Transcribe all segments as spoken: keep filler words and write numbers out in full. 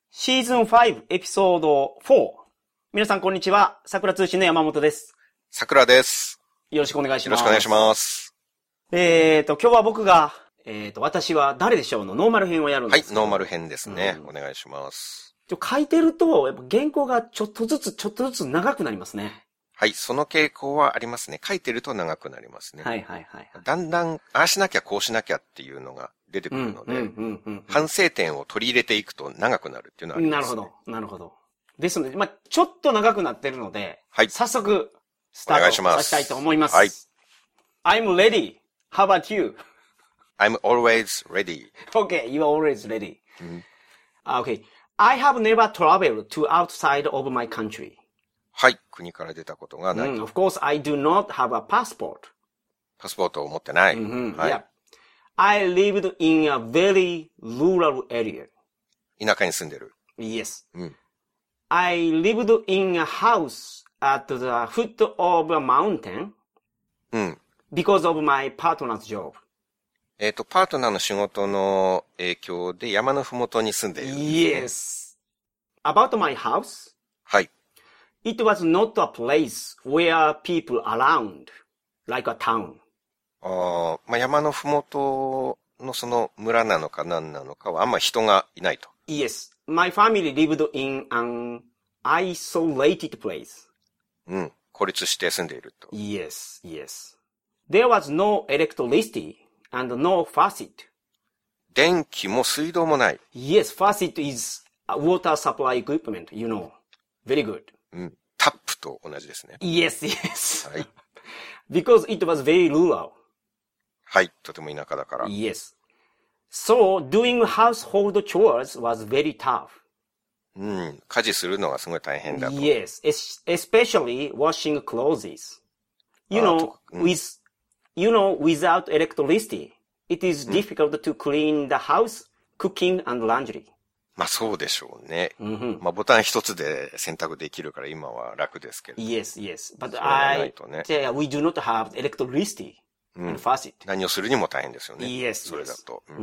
シーズンファイブエピソードフォー。皆さんこんにちは。桜通信の山本です。 桜です。 よろしくお願いします。 よろしくお願いします。 えーと、今日は僕が、えーと、私は誰でしょうのノーマル編をやるんですけど。 はい、ノーマル編ですね。うん、お願いします。 ちょ書いてると、やっぱ原稿がちょっとずつちょっとずつ長くなりますね。 はい、その傾向はありますね。書いてると長くなりますね。 はいはいはい、はい。 だんだん、ああしなきゃこうしなきゃっていうのが出てくるので、反省点を取り入れていくと長くなるっていうのはありますね。 なるほど、なるほど。ですので、まあちょっと長くなってるので、 はい。 早速、スタートさせたいと思います。 はい。 I'm ready. How about you? I'm always ready. Okay, you're always ready. Mm-hmm. Okay. I have never traveled to outside of my country. はい。国から出たことがない。 Mm, of course, I do not have a passport. パスポートを持ってない。 Mm-hmm. はい。 Yeah. I lived in a very rural area. 田舎に住んでる。 Yes. うん。 I lived in a house at the foot of a mountain. うん。 Because of my partner's job. えっと、パートナーの仕事の影響で山のふもとに住んでいる、ね。 Yes. About my house. はい。 It was not a place where people around, like a town. あまあ、山のふもとのその村なのか何なのかはあんま人がいないと。 Yes. My family lived in an isolated place. うん。孤立して住んでいると。 Yes, yes. There was no electricity and no faucet. 電気も水道もない。 Yes, faucet is a water supply equipment, you know. Very good. うん。タップと同じですね。 Yes, yes. はい。 Because it was very rural. はい。とても田舎だから。 Yes. So, doing household chores was very tough. うん。家事するのがすごい大変だと。 Yes, especially washing clothes. You know, うん、 with, you know, without electricity, it is difficult to clean the house, cooking and laundry. まあそうでしょうね。 Mm-hmm. まあボタン一つで選択できるから今は楽ですけど。 Yes, yes. But それがな I, いとね。 yeah, we do not have electricity and faucet. 何をするにも大変ですよね。 Yes, それだと。 yes. うん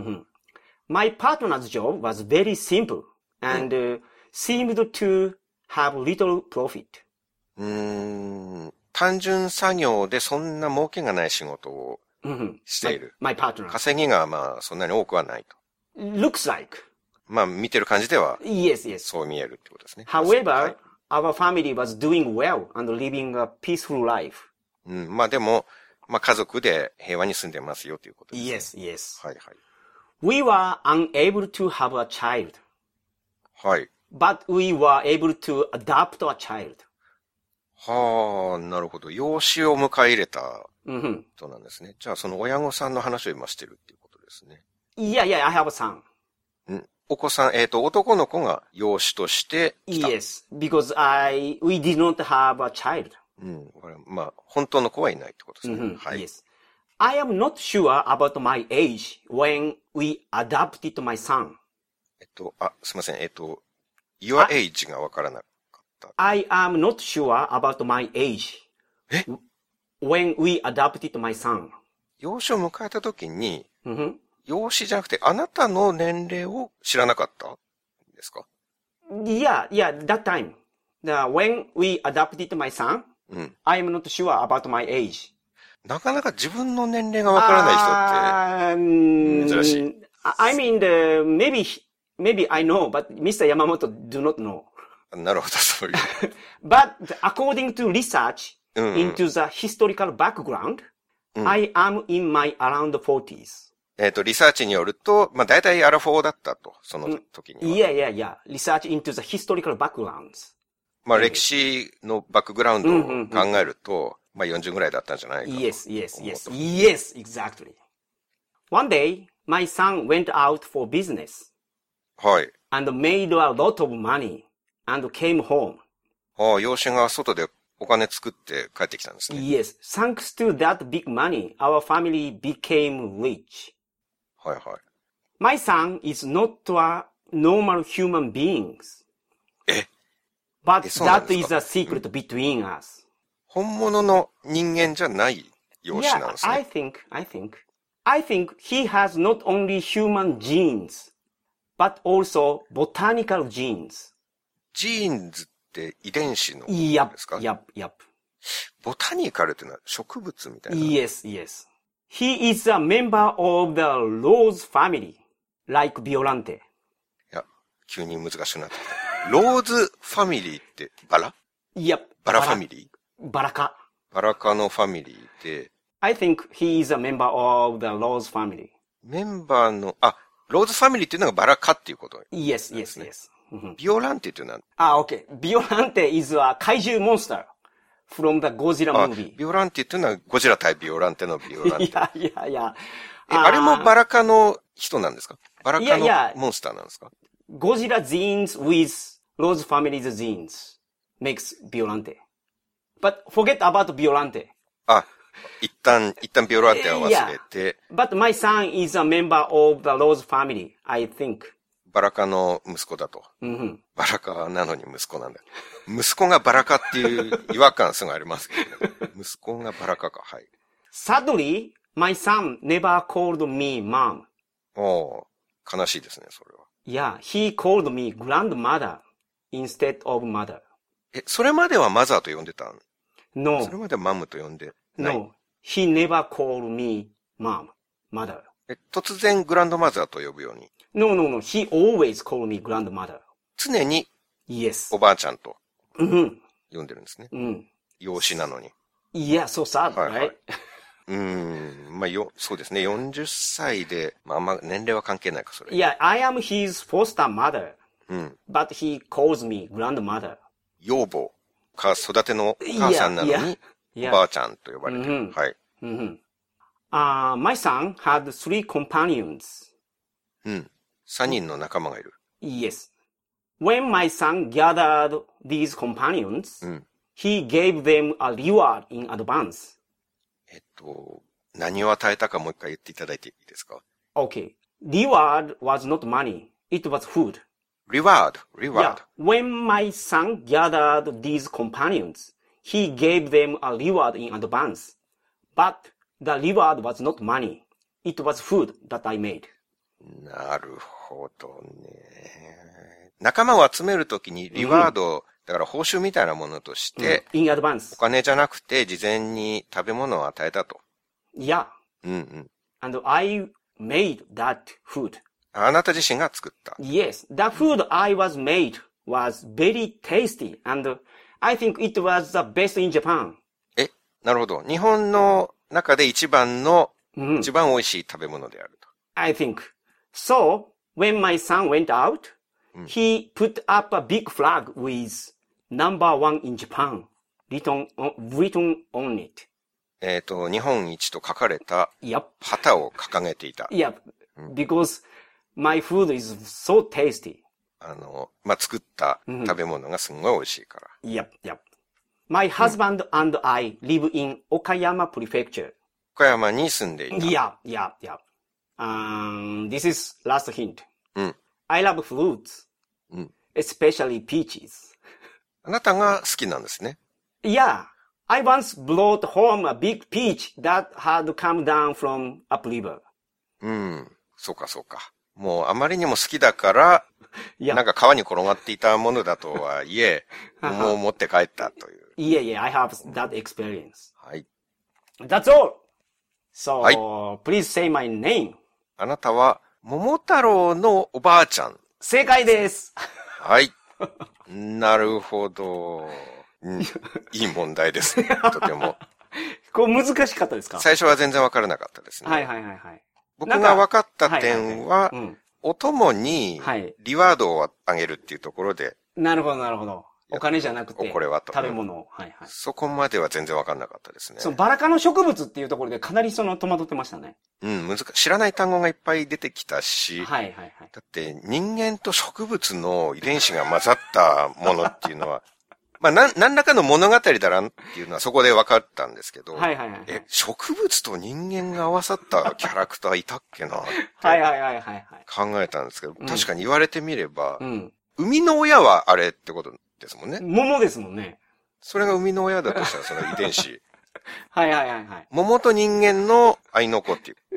、My partner's job was very simple and、uh, seemed to have little profit. うーん。単純作業でそんな儲けがない仕事をしている。 My, my partner. 稼ぎがまあそんなに多くはないと。 Looks like. まあ見てる感じでは、 yes, yes. そう見えるってことですね。 However, はい、 our family was doing well and living a peaceful life. うん、まあでも、まあ家族で平和に住んでますよということです、 ね。Yes, yes. はいはい。 We were unable to have a child. はい。 But we were able to adopt a child. はあ、なるほど。養子を迎え入れた人なんですね。 Mm-hmm. じゃあその親御さんの話を今してるっていうことですね。 Yeah, yeah, I have a son. うん。お子さん、えっと、男の子が養子として来た。 Yes, because I, we did not have a child. うん。これまあ、本当の子はいないってことですね。 Mm-hmm. はい。 Yes. I am not sure about my age when we adopted my son. えっと、あ、すいません。えっと、your age がわからなかった。 I am not sure about my age. え when we adopted my son. 養子を迎えたときに、 Mm-hmm. 養子じゃなくて、あなたの年齢を知らなかったんですか？ Yeah, yeah, that time. The, when we adopted my son, うん。 I am not sure about my age. なかなか自分の年齢がわからない人って、珍しい。 I mean, the, maybe, maybe I know, but Mister Yamamoto do not know. なるほど、そういう。 But according to research うんうん、 into the historical background, うん、 I am in my around forties. えっと、リサーチによると、まあ、大体アラフォーだったと、その時には。 Yeah, yeah, yeah. Research into the historical backgrounds. まあ、歴史のバックグラウンドを考えると、まあ、よんじゅうぐらいだったんじゃないかと。 Yes, yes, yes. Yes, exactly. One day, my son went out for business. はい。 And made a lot of money and came home. ああ、養子が外でお金作って帰ってきたんですね。 Yes, thanks to that big money, our family became rich. はいはい。 My son is not a normal human being. え But え、そうなんで that すか？ is a secret between us. 本物の人間じゃない養子なん Yeah, ですね。 I think, I think. I think he has not only human genes, but also botanical genes. ジーンズって遺伝子のこと Yep, ですか？ yep, yep. ボタニカルってのは植物みたいな。 Yes, yes. He is a member of the Rose family, like Violante. いや、急に難しくなってきた。ローズファミリーってバラ？ Yep. バラファミリー？ バラカ。 バラカのファミリーで、 I think he is a member of the Rose family. メンバーの、あ、ローズファミリーっていうのがバラカっていうこと。 Yes, yes, yes. ビオランテっていうのは、 あ、okay. Violante is a kaiju monster from the Godzilla あ movie. ビオランテっていうのはゴジラ対ビオランテのビオランテ。 いやいやいや。 え、あれもバラカの人なんですか？バラカのいやいやモンスターなんですか？ Godzilla genes with Rose family's genes makes Violante. But forget about Violante. あ、一旦、一旦ビオランテは忘れて、 But my son is a member of the Rose family, I think. バラカの息子だと。 Mm-hmm. バラカなのに息子なんだ。息子がバラカっていう違和感すごいありますけどね。息子がバラカか、はい。 Sadly, my son never called me mom. おー、悲しいですね、それは。 Yeah, he called me grandmother instead of mother. え、それまではマザーと呼んでたん？ No, それまではマムと呼んでない。 no, he never called me mom, mother. え、突然グランドマザーと呼ぶように。 No, no, no, he always called me grandmother. 常に Yes. おばあちゃんと Mm-hmm. 呼んでるんですね。 Mm. 養子なのに。 Yeah, so sad, はいはい right? うーん。まあ、よ、そうですね。よんじゅっさいで、まあ、あんま年齢は関係ないか、それ。 Yeah, I am his foster mother, うん。 but he calls me grandmother. 養母か、育てのお母さんなのに、 Yeah, yeah. おばあちゃんと呼ばれてる。 うんはい。 Mm-hmm. Uh, my son had three companions. うん。三人の仲間がいる。 Yes. When my son gathered these companions, うん。 he gave them a reward in advance. えっと、何を与えたかもう一回言っていただいていいですか？ Okay. Reward was not money. It was food. reward, Yeah. reward. When my son gathered these companions, he gave them a reward in advance. But the reward was not money. It was food that I made. なるほどね。仲間を集めるときにリワード、だから報酬みたいなものとして、 In お advance. 金じゃなくて事前に食べ物を与えたと。 Yeah. うんうん。 And I made that food. あなた自身が作った。 Yes. The food I was made was very tasty. And I think it was the best in Japan. え、なるほど。日本の中で一番の、 うん一番美味しい食べ物であると。 I think. So, when my son went out, he put up a big flag with number one in Japan written on, written on it. えっと、日本一と書かれた Yep. 旗を掲げていた。 Yep. Because my food is so tasty. あの、まあ、作った食べ物がすんごい美味しいから。 Yep, yep. My husband and I live in Okayama Prefecture. 岡山に住んでいた。 Yeah, yeah, yeah. Um, this is last hint. うん。 I love fruits, うん。 especially peaches. あなたが好きなんですね。 Yeah, I once brought home a big peach that had come down from upriver. うん。そうかそうか。もうあまりにも好きだから、 Yeah. なんか川に転がっていたものだとはいえ、もう持って帰ったという。 Yeah, yeah, I have that experience. はい。 That's all. So, はい。 please say my name. あなたは、桃太郎のおばあちゃん。 正解です。 はい。なるほど。うん、いい問題ですね。とても。 これ難しかったですか？ 最初は全然わからなかったですね。 はいはいはいはい。 僕が分かった点は、 いいいうんお供にはいリワードをあげるっていうところで、 なるほどなるほど。お金じゃなくて、 これはと食べ物を。はいはい。 そこまでは全然分かんなかったですね。 そのバラ科の植物っていうところでかなりその戸惑ってましたね。 うん、難しい。知らない単語がいっぱい出てきたし、 はいはいはい。 だって人間と植物の遺伝子が混ざったものっていうのは、まあ、なん、何らかの物語だなっていうのはそこで分かったんですけど、 はいはいはいはい。 え、植物と人間が合わさったキャラクターいたっけなってはいはいはいはいはい。 考えたんですけど、 うん確かに言われてみれば、 うん。 生みの親はあれってことですもんね。 桃ですもんね。 それが生みの親だとしたらその遺伝子。 はいはいはいはい。 桃と人間の愛の子っていう。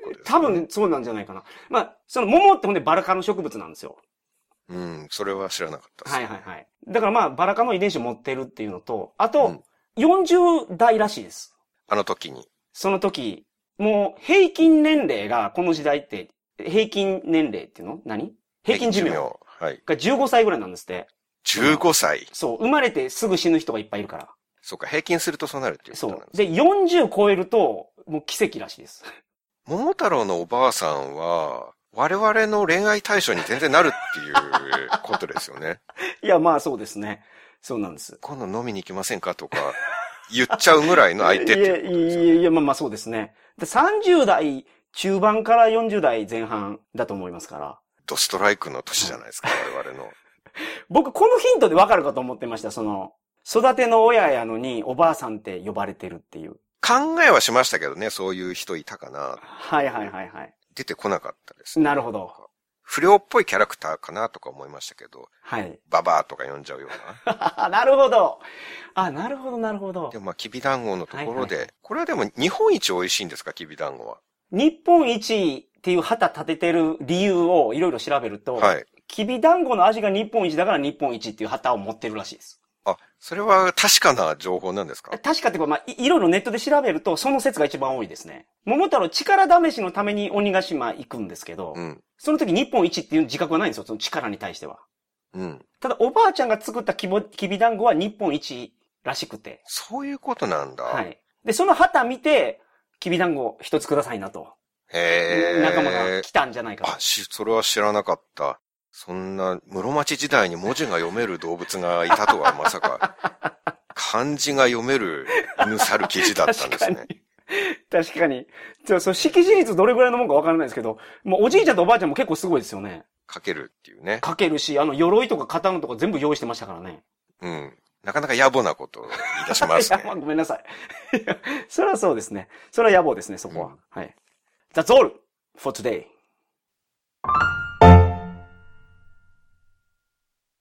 ことですね。 多分そうなんじゃないかな。まあ、その桃ってほんでバラ科の植物なんですよ。 うん、それは知らなかったです。 はいはいはい。だからまあ、バラ科の遺伝子を持ってるっていうのと、あと、うん、よんじゅう代らしいです。 あの時に。 その時、もう平均年齢がこの時代って、平均年齢っていうの何平均寿命。はい。がじゅうごさいぐらいなんですって。 じゅうごさい。 そう、生まれてすぐ死ぬ人がいっぱいいるから。 そうか、平均するとそうなるっていうことなんですね。 そう。で、よんじゅう超えると、もう奇跡らしいです。 桃太郎のおばあさんは、我々の恋愛対象に全然なるっていうことですよね。 いや、まあそうですね。そうなんです。 今度飲みに行きませんかとか、言っちゃうぐらいの相手っていうことですよね。 いやいやいや、まあまあそうですね。でさんじゅう代中盤からよんじゅう代前半だと思いますから。 ドストライクの年じゃないですか、我々の。 僕、このヒントでわかるかと思ってました。その、育ての親やのにおばあさんって呼ばれてるっていう。 考えはしましたけどね、そういう人いたかな。 はいはいはいはい。 出てこなかったですね。 なるほど。 不良っぽいキャラクターかなとか思いましたけど。 はい。 ババアとか呼んじゃうような。なるほど。あ、なるほどなるほど。 でもまあ、きびだんごのところで、はいはい、これはでも日本一美味しいんですか、きびだんごは。 日本一っていう旗立ててる理由をいろいろ調べると、はい。きびだんごの味が日本一だから日本一っていう旗を持ってるらしいです。 あ、それは確かな情報なんですか？ 確かっていうか、まあ、い、いろいろネットで調べると、その説が一番多いですね。桃太郎力試しのために鬼ヶ島行くんですけど、うん、その時日本一っていう自覚はないんですよ、その力に対しては。うん。ただ、おばあちゃんが作ったきぼ、きびだんごは日本一らしくて。 そういうことなんだ。 はい。で、その旗見て、きびだんご一つくださいなと。 へー。 仲間が来たんじゃないかと。 あ、し、それは知らなかった。そんな、室町時代に文字が読める動物がいたとはまさか、漢字が読める犬猿記事だったんですね。 確かに。じゃあ、その識字率どれぐらいのもんかわからないですけど、もうおじいちゃんとおばあちゃんも結構すごいですよね。 書けるっていうね。 書けるし、あの、鎧とか刀とか全部用意してましたからね。 うん。なかなか野暮なことを言い出しますね。 いや、まあ、ごめんなさい。それはそうですね。それは野暮ですね、そこは。うん、はい。That's all for today.